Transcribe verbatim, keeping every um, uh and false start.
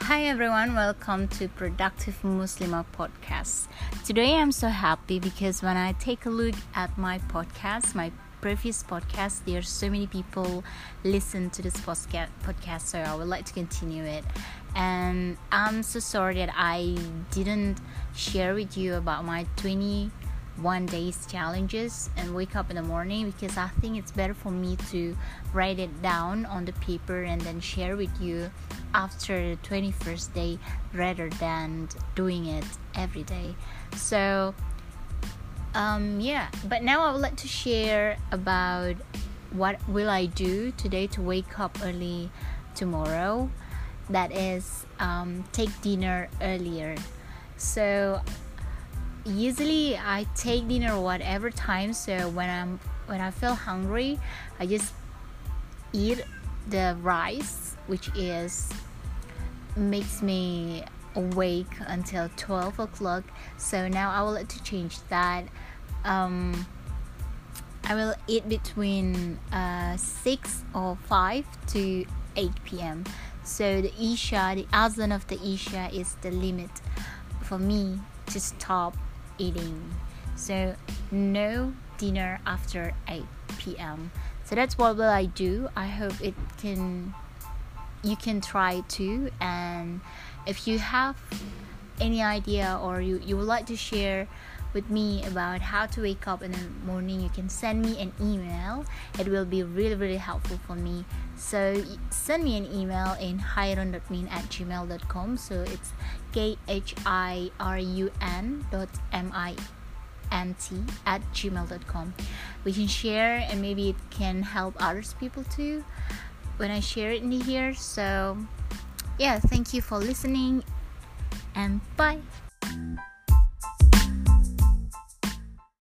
Hi everyone, welcome to Productive Muslimah podcast. Today I'm so happy because when I take a look at my podcast, my previous podcast, there are so many people listen to this podcast, so I would like to continue it. And I'm so sorry that I didn't share with you about my twenty-one days challenges and wake up in the morning, because I think it's better for me to write it down on the paper and then share with you after the twenty-first day rather than doing it every day. So um yeah but now I would like to share about what will I do today to wake up early tomorrow. That is um take dinner earlier. So usually I take dinner whatever time, so when I'm when I feel hungry I just eat the rice, which is makes me awake until twelve o'clock. So now I will like to change that. um I will eat between uh, six or five to eight p.m. So the Isha, the Azan of the Isha is the limit for me to stop eating. So no dinner after eight p.m. So that's what will I do. I hope it can you can try too. And if you have any idea or you, you would like to share with me about how to wake up in the morning, you can send me an email. It will be really really helpful for me. So send me an email in hirun dot min at gmail dot com. So it's K H I R U N dot M I N T at gmail dot com. We can share and maybe it can help others people too when I share it in here. So yeah, thank you for listening and bye.